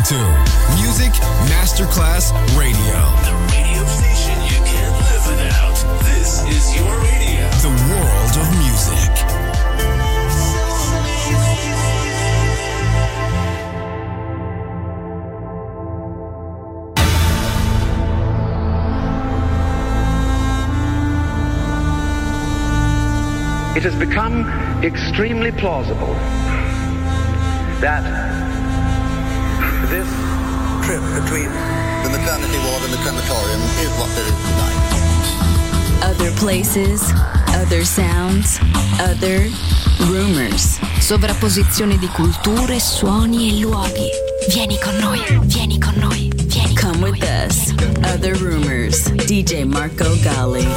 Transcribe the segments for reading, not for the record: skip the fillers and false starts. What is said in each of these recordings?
to Music Masterclass Radio. The radio station you can't live without. This is your radio. The world of music. It has become extremely plausible that this trip between the maternity ward and the crematorium is what there is tonight. Other places, other sounds, other rumors. Sovrapposizione di culture, suoni e luoghi. Vieni con noi, vieni con noi, vieni con noi. Come with us. Other Rumors. DJ Marco Gally.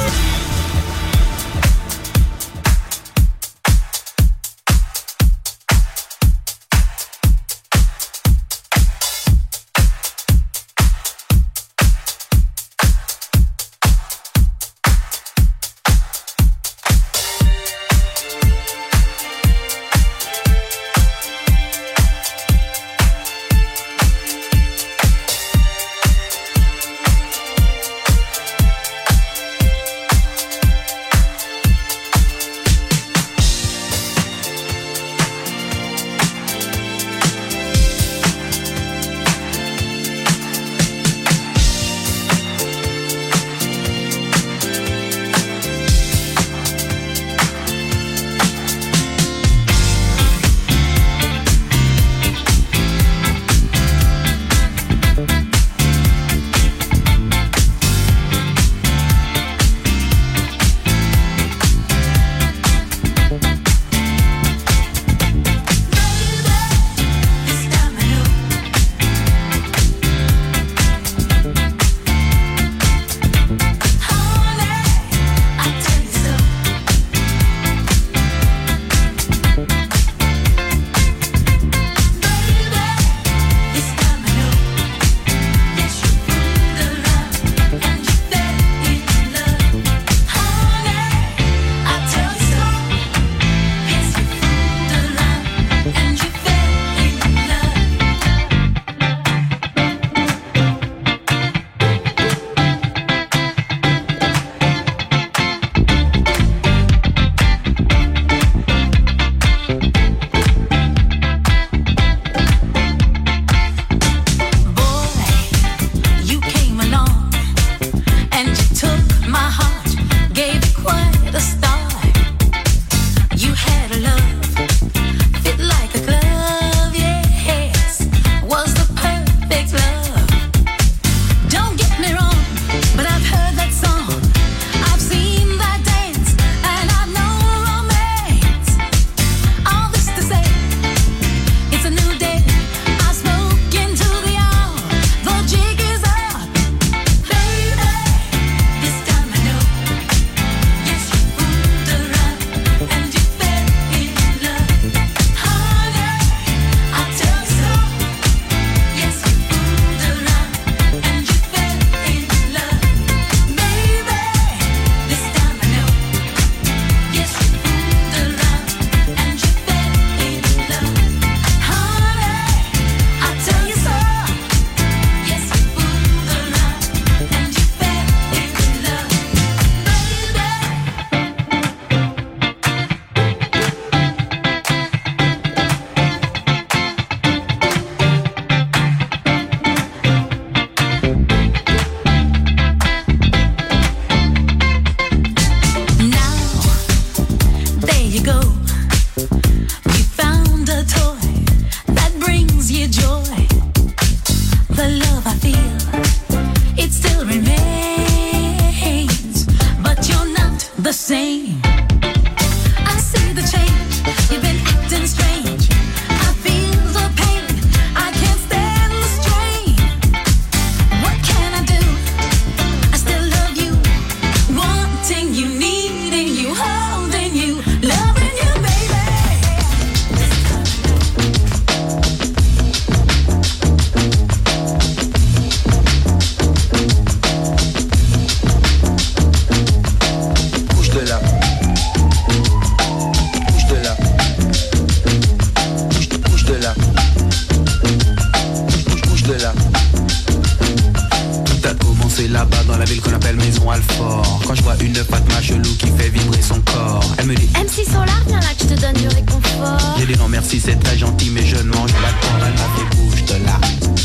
dit non merci c'est très gentil mais je ne mange pas de porc. Elle m'a fait bouge de là.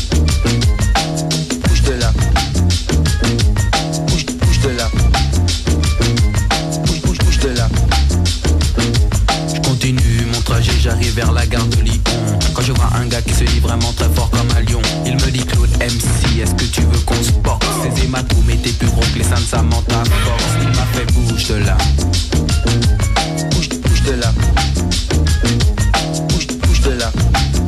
Bouge de là. Bouge de là. Bouge de là. Je continue mon trajet, j'arrive vers la gare de Lyon. Quand je vois un gars qui se dit vraiment très fort comme un lion, il me dit Claude MC, est-ce que tu veux qu'on se porte? Ces hématomes étaient plus gros que les seins de Samantha Force. Il m'a fait bouge de là. Bouge de là. Bouge de là.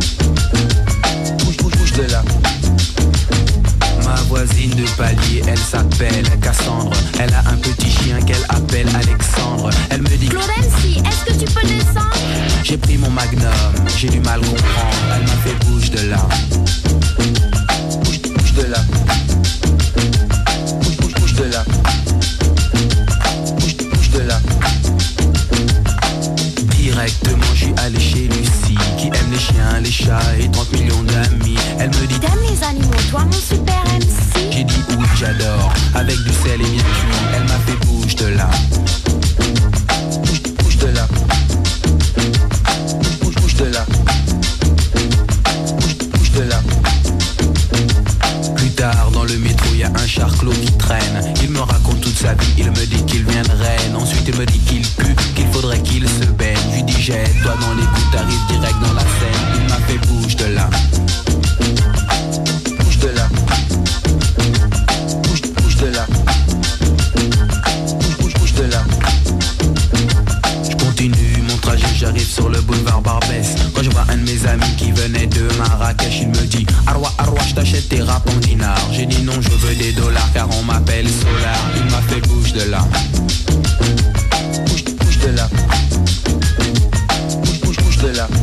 Bouge de là. Ma voisine de palier, elle s'appelle Cassandre. Elle a un petit chien qu'elle appelle Alexandre. Elle me dit Claude MC, est-ce que tu peux descendre? J'ai pris mon magnum, j'ai du mal comprendre. Elle m'a fait bouge de là. Bouge de là. Bouge de là. Bouge de là. Directement je suis allé chez Lucie, qui aime les chiens, les chats et 30 millions d'amis. Elle me dit t'aimes les animaux, toi mon super MC? J'ai dit oui j'adore, avec du sel et bien cuit. Elle m'a fait bouge de là. Bouge de là. Bouge de là. Bouge de là. Plus tard dans le métro il y a un charclot qui traîne. Il me raconte toute sa vie, il me dit qu'il vient de Rennes. Ensuite il me dit qu'il pue, qu'il faudrait qu'il se baigne. Je lui dis jette-toi dans les coups, t'arrives direct dans la scène. Il m'a fait bouge de là. Bouge de là. Bouge de là. Bouge de là. Je continue mon trajet, j'arrive sur le boulevard Barbès. Quand je vois un de mes amis qui venait de Marrakech, il me dit Arwa, je t'achète tes rap en dinars. J'ai dit non, je veux des dollars car on m'appelle Solar. Il m'a fait bouge de là. Bouge de là. Bouge de là.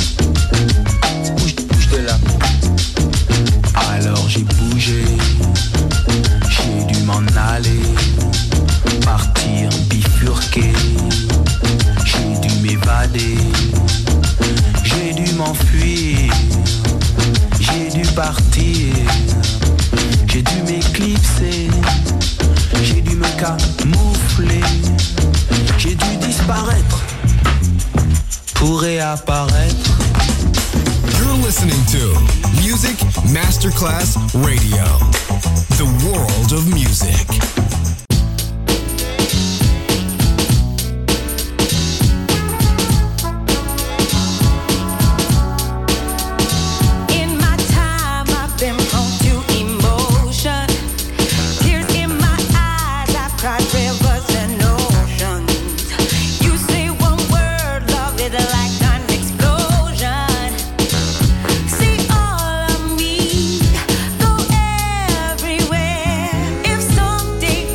Bouge de là. Alors j'ai bougé, j'ai dû m'en aller, partir, bifurquer. J'ai dû m'évader, j'ai dû m'enfuir, j'ai dû partir, j'ai dû m'éclipser, j'ai dû me camoufler, j'ai dû disparaître pour réapparaître. You're listening to Music Masterclass Radio, the world of music. Everywhere, if someday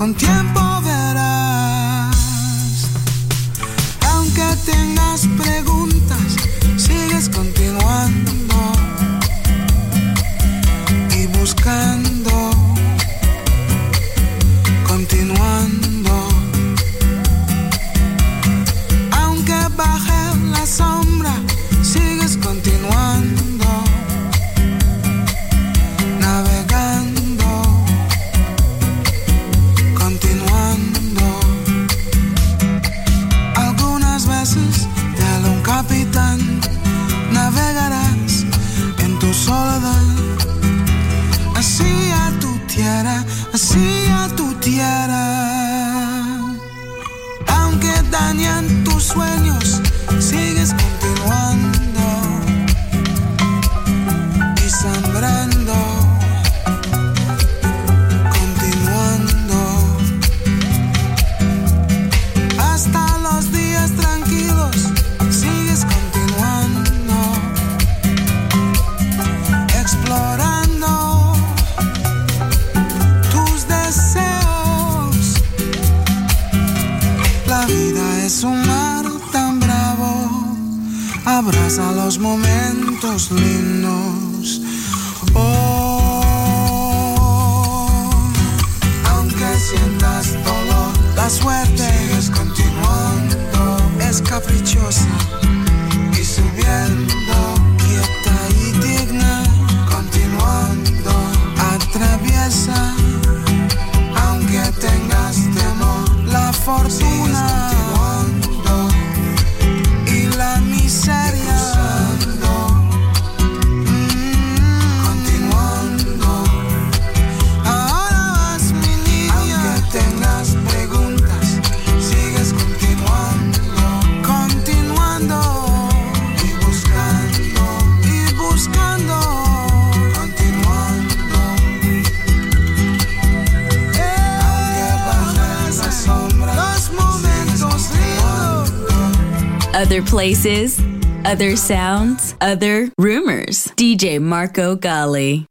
con tiempo verás. Aunque tengas preguntas, sigues continuando y buscando, continuando. Aunque baje la sombra, sigues continuando, navegando, continuando. Algunas veces te habla un capitán, navegarás en tu soledad, hacia tu tierra, hacia tu tierra. Aunque dañan tus sueños, sigues continuando y sembrando, continuando. Hasta los días tranquilos, sigues continuando, explorando tus deseos. La vida es un mar tan bravo, abraza los momentos lindos. Oh, aunque sientas dolor, la suerte sigues continuando, es caprichosa y subiendo, quieta y digna, continuando, atraviesa, aunque tengas temor, la fortuna y la miseria, continuando. Ahora vas, mi niña, aunque tengas preguntas, sigues continuando, continuando y buscando, continuando. Aunque bajen la sombra, los momentos lindos. Other places, other sounds, other rumors. DJ Marco Gally.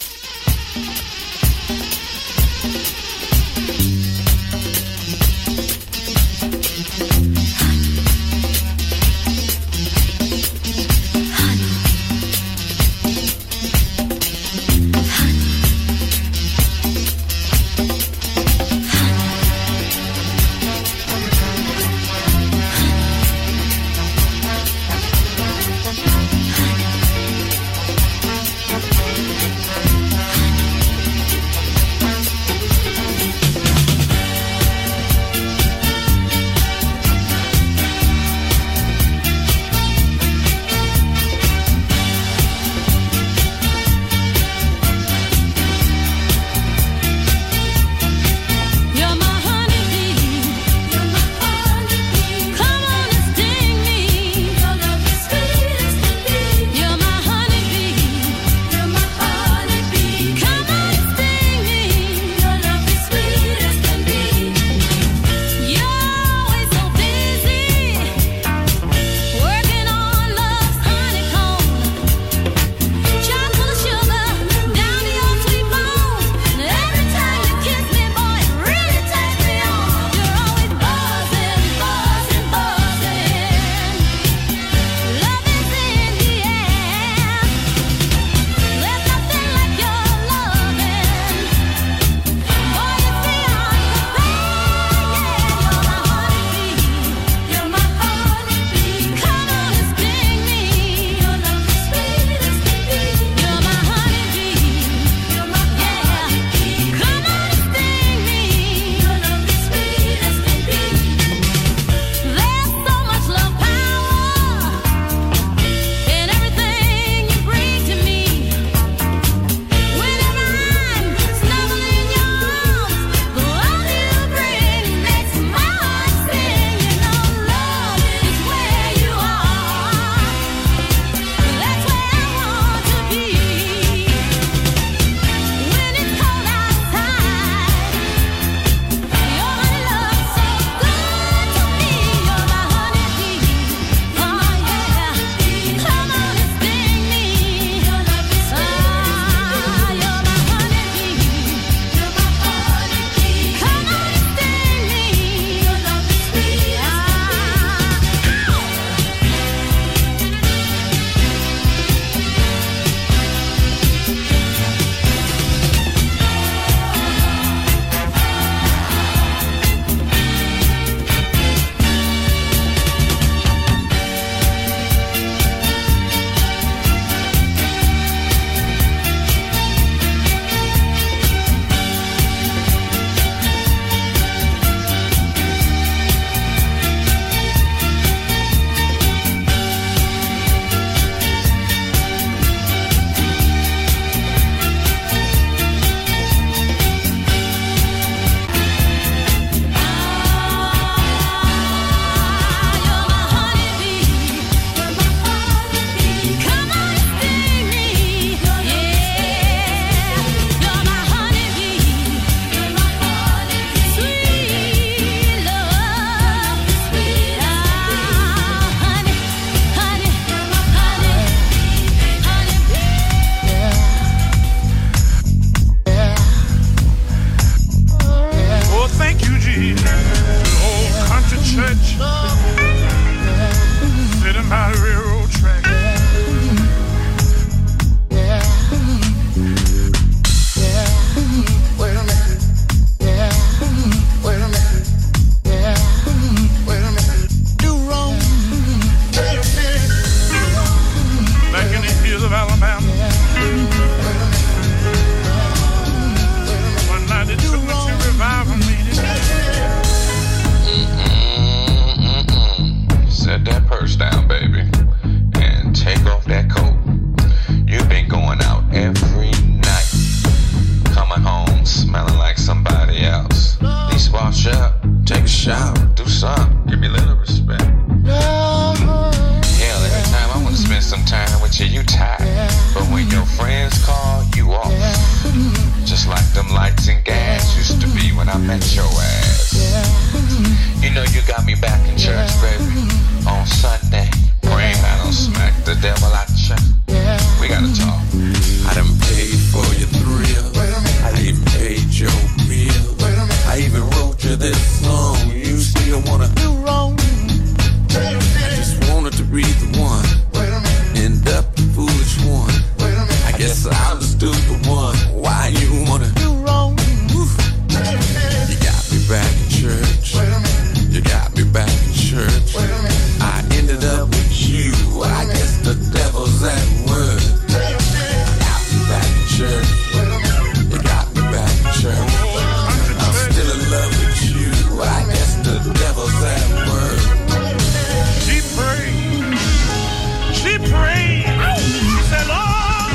I met your ass. You know you got me back in church, baby. On Sunday, praying I don't smack the devil out the church. We gotta talk. I done paid for your thrill. I even paid your bill. I even wrote you this song. You still wanna do wrong? I just wanted to be the one. End up the foolish one. I guess I was the stupid one. Why you wanna do wrong? You got me back in church. You got me back in church. I ended up with you. I guess the devil's at work. You got me back in church. You got me back in church. I'm still in love with you. I guess the devil's at work. She prayed. She prayed. She said, Lord,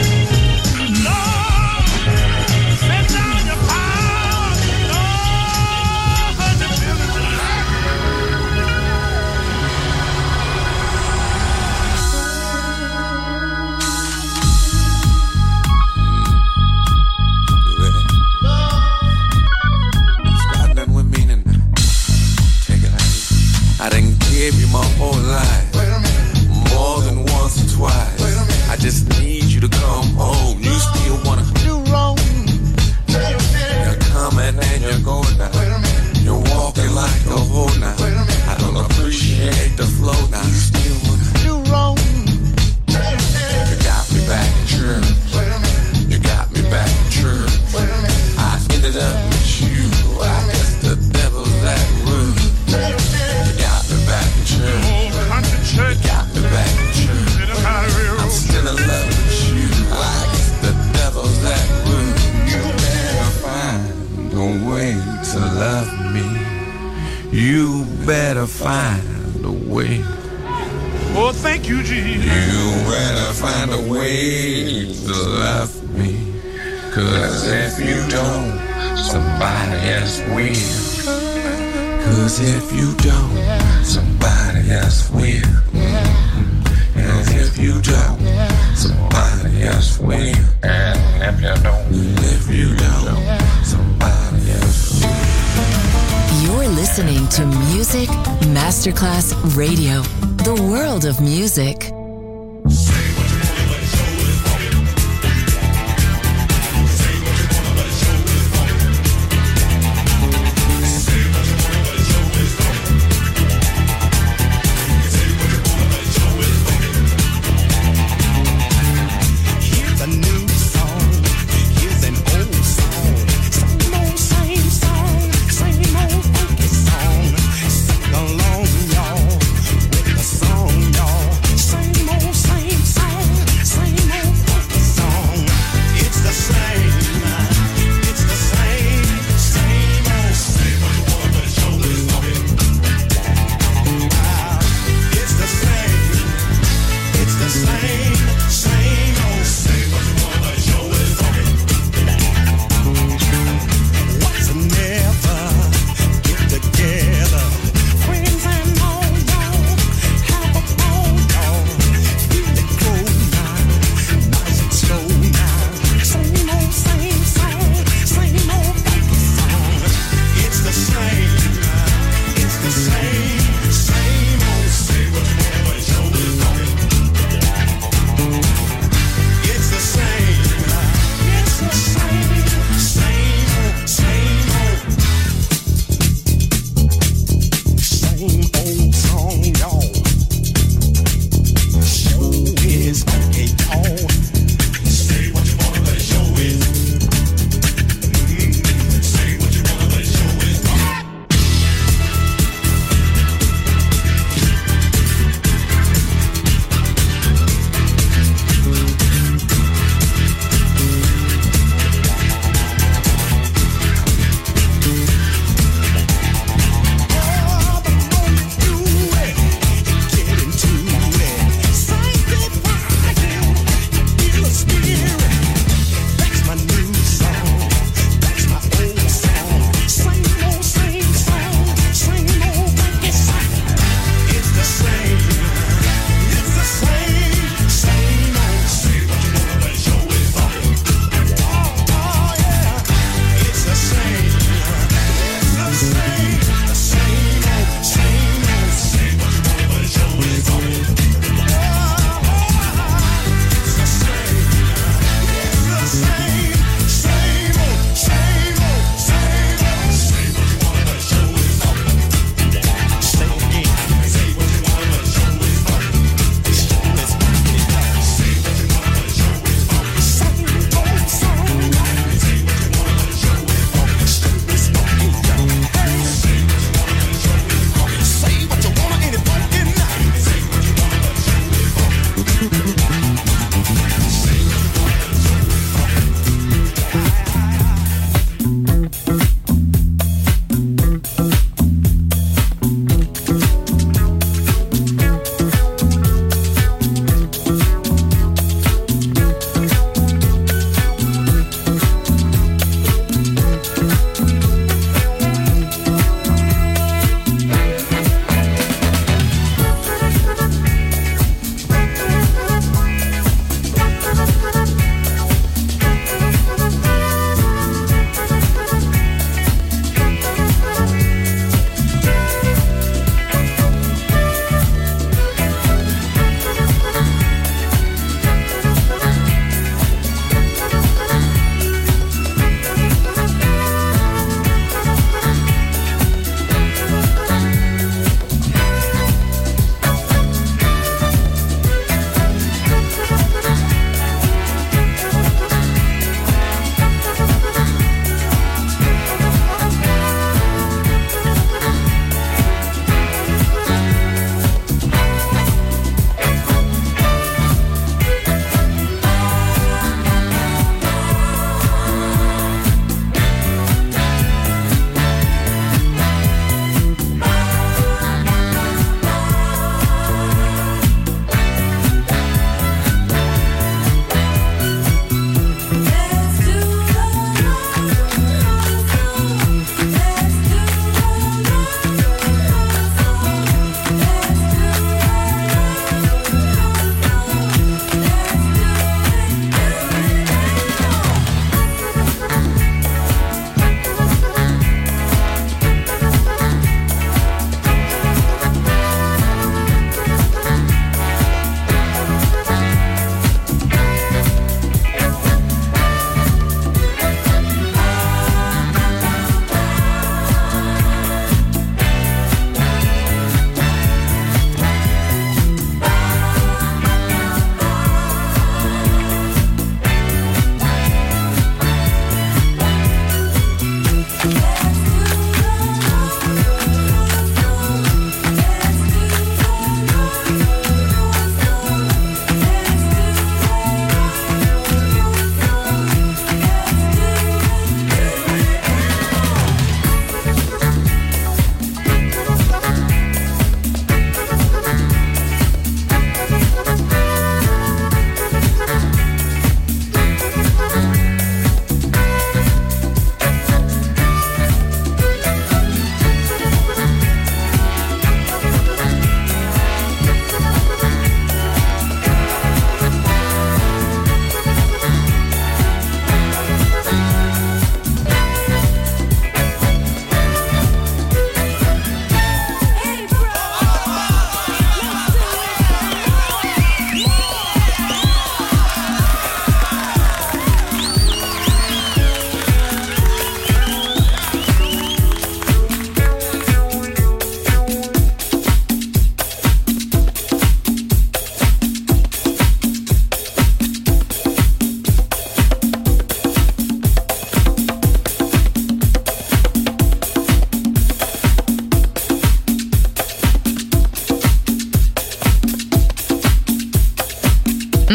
Lord, send down your power. Lord, the building. Got nothing with me tonight. Take it like this. I done gave you my whole life. More than once or twice. I just need you to come home. You still wanna do wrong? You're coming and you're going now. You're walking like a hoe now. I don't appreciate the flow now. You still wanna do wrong? You got me back in church. You got me back in church. I ended up with you. I guess the devil's at work. You got me back in church. You got me back in church. I'm still in love with you. I guess the devil's at work. You better find a way to love me. You better find a way. Oh, thank you, Jesus. You better find a way to love me. 'Cause if you don't, somebody else will. 'Cause if you don't, somebody else will. And if you don't, somebody else will. And if you don't, somebody else will. You're listening to Music Masterclass Radio, the world of music. Sing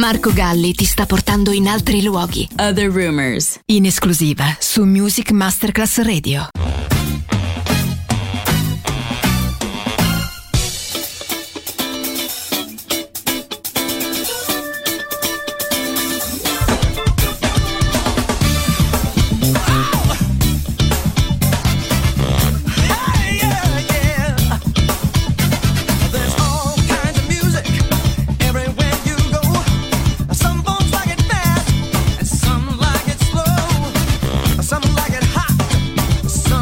Marco Galli ti sta portando in altri luoghi. Other Rumors, in esclusiva su Music Masterclass Radio. Some like it hot, some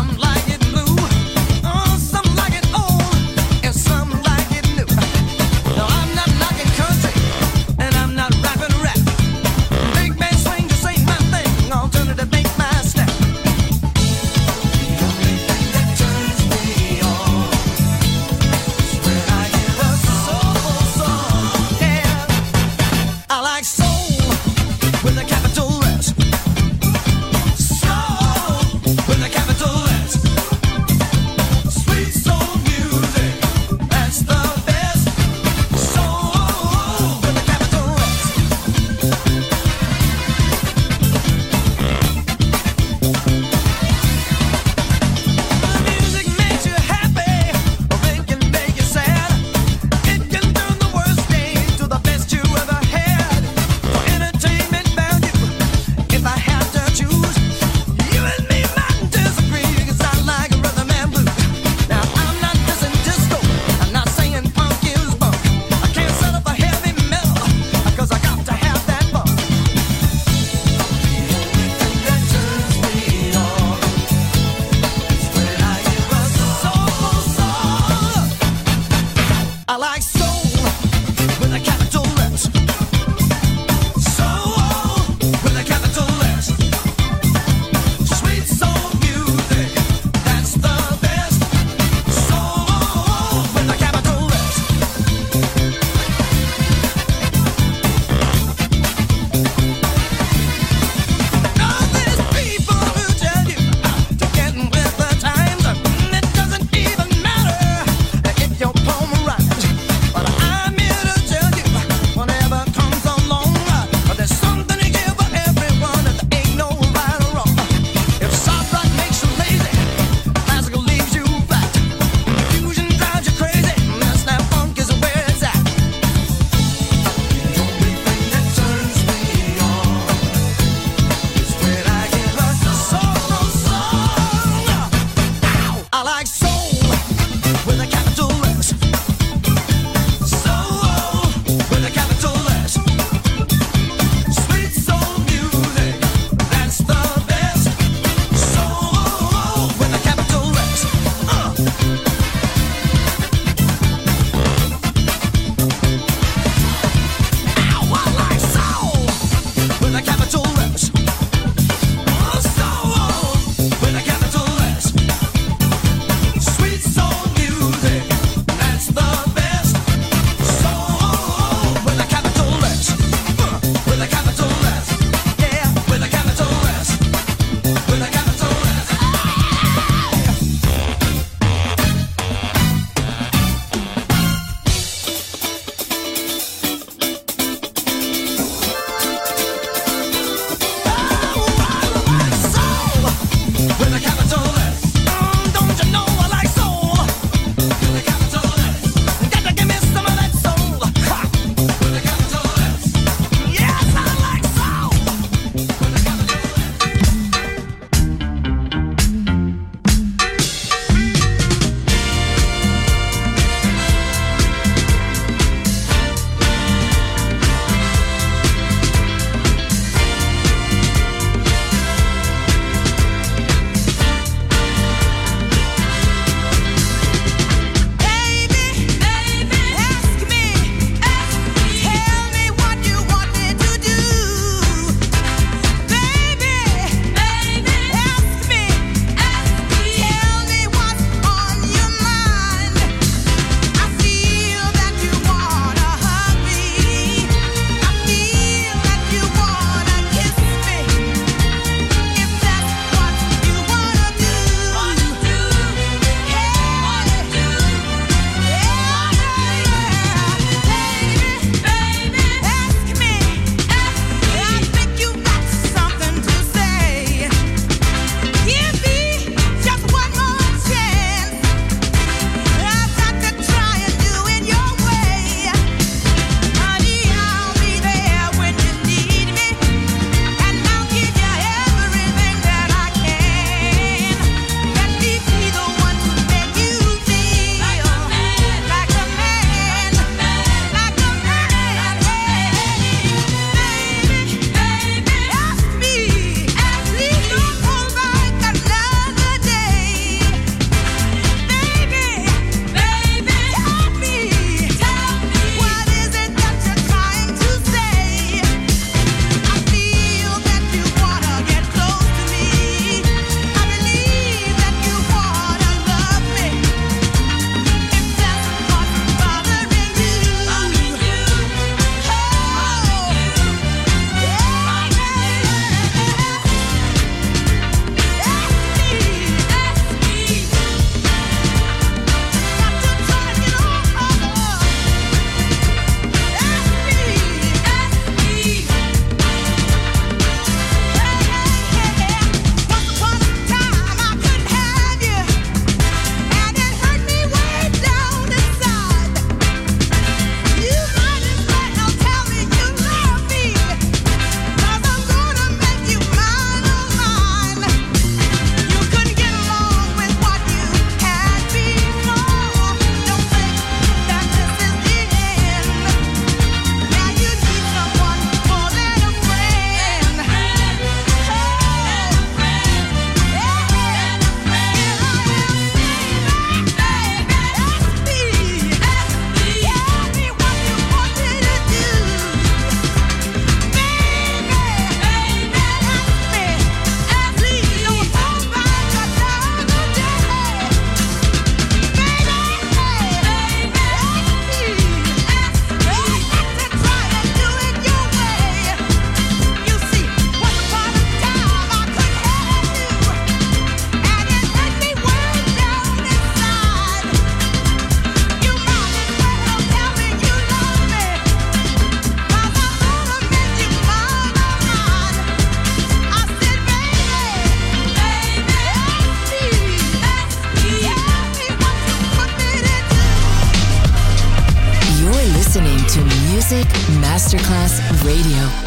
Music Masterclass Radio.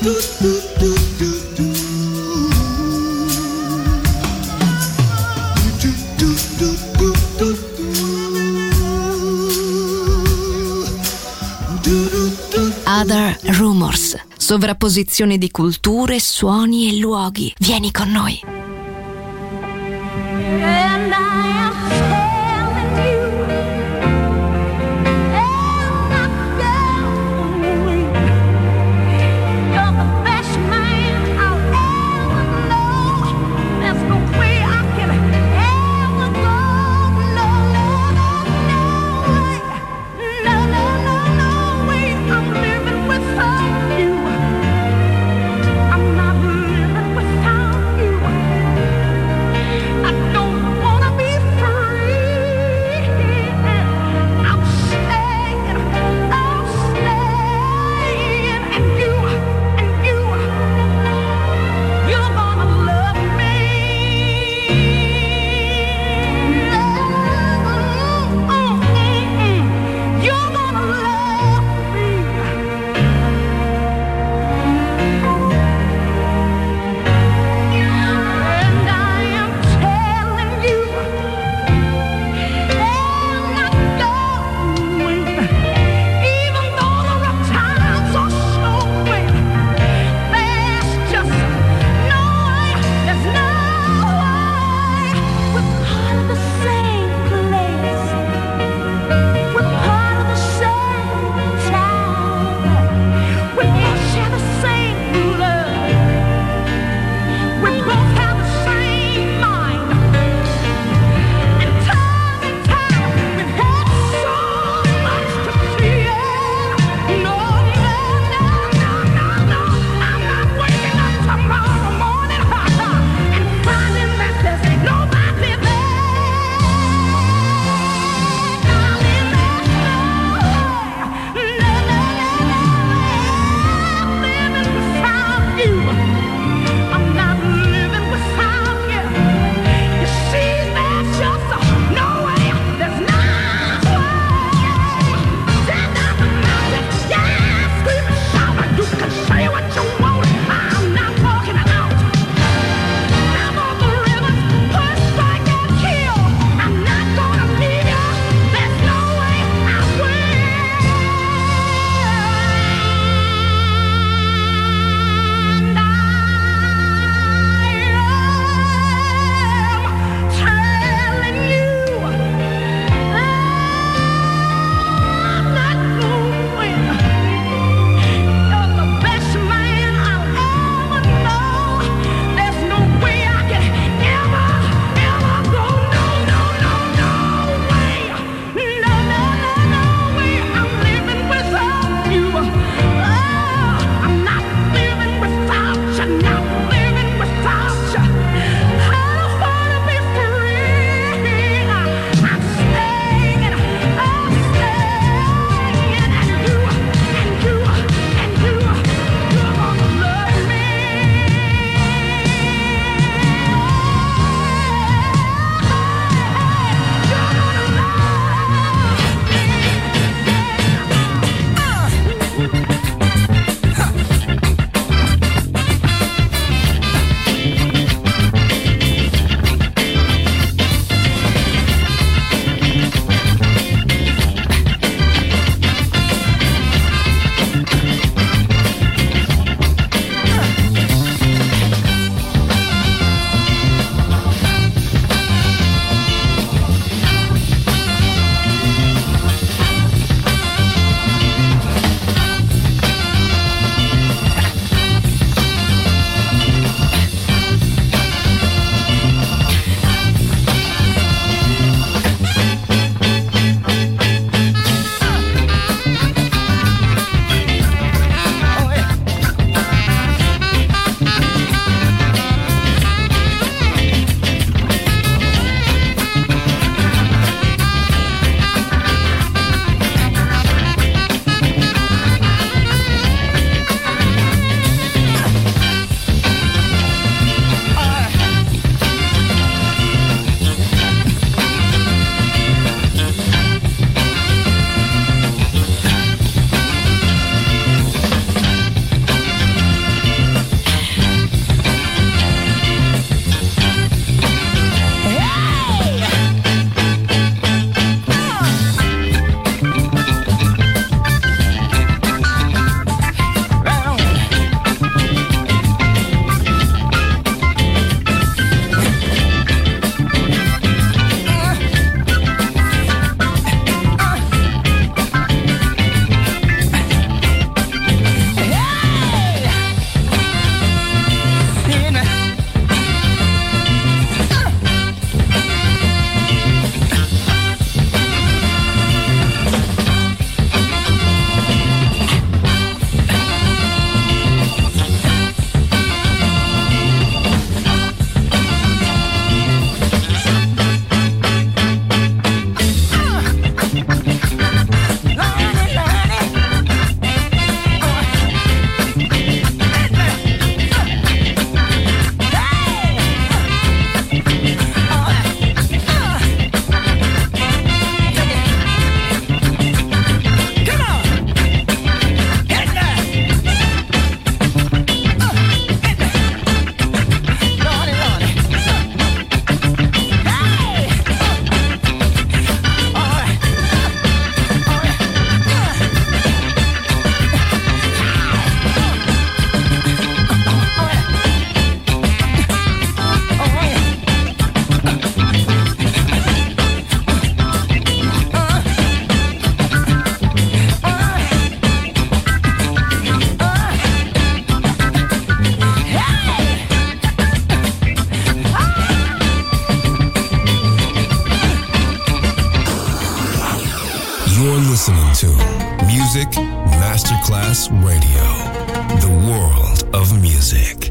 Other Rumors, sovrapposizione di culture, suoni e luoghi. Vieni con noi. And I am telling you, I'm not going. You're the best man I'll ever know. There's no way I can ever go. No, no, no, no way. No, no, no, no way. I'm living without you. I'm not living without you. I don't wanna be Music Masterclass Radio. The world of music.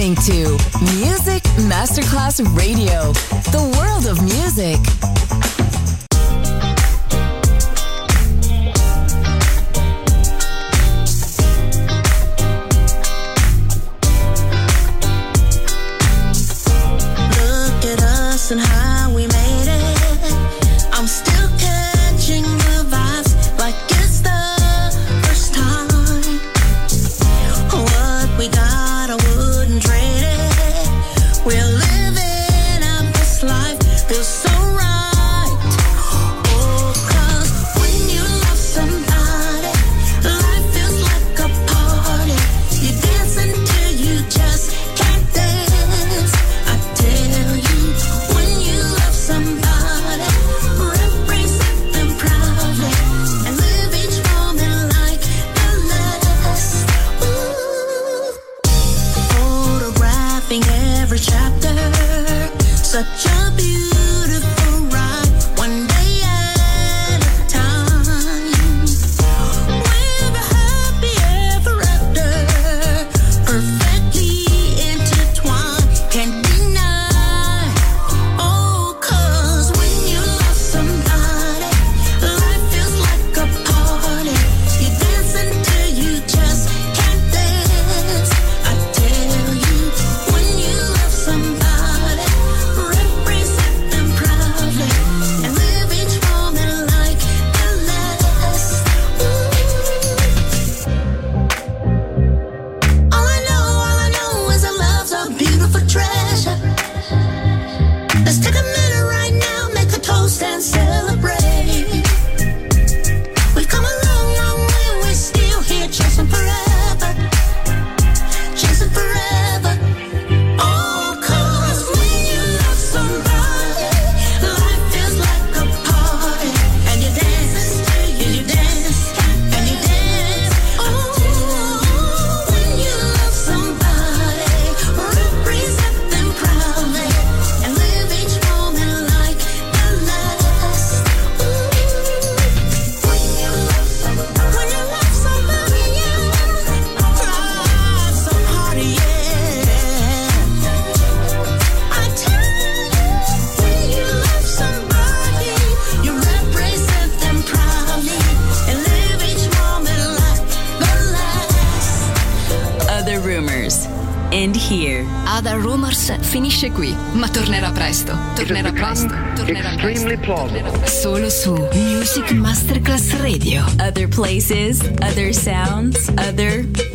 listening to Music Masterclass Radio, the world of music. Look at us and how we made it. I'm still catching the vibes like it's the first time. What we got, I wouldn't trade it. We're living out this life, feels so right. Oh, 'cause when you love somebody, life feels like a party. You dance until you just can't dance. I tell you, when you love somebody, represent them proudly and live each moment like the last. Ooh. Photographing every chapter, such a beautiful ride, one day at a time. We're happy ever after, perfectly intertwined, can't deny. Oh, 'cause when you love somebody, life feels like a party. You dance until you just can't dance. I tell you, when you love somebody, represent them proudly and live each moment like the last. All I know is our love's a beautiful treasure. Let's take a minute right now, make a toast and celebrate. We've come a long, long way, we're still here chasing forever. Chasing forever. Oh, 'cause when you love somebody, life feels like a party. And you dance, and you dance, and you dance. Oh, when you love somebody, represent them proudly and live each moment like the last. Ooh. When you love somebody, yeah, fly so hard, yeah. I tell you, when you love somebody, you represent them proudly and live each moment like the last. Other Rumors. End here. Other Rumors finisce qui, ma tornerà presto. Tornerà presto. Tornerà Extremely plausible. solo su Music Masterclass Radio. Other places, other sounds, other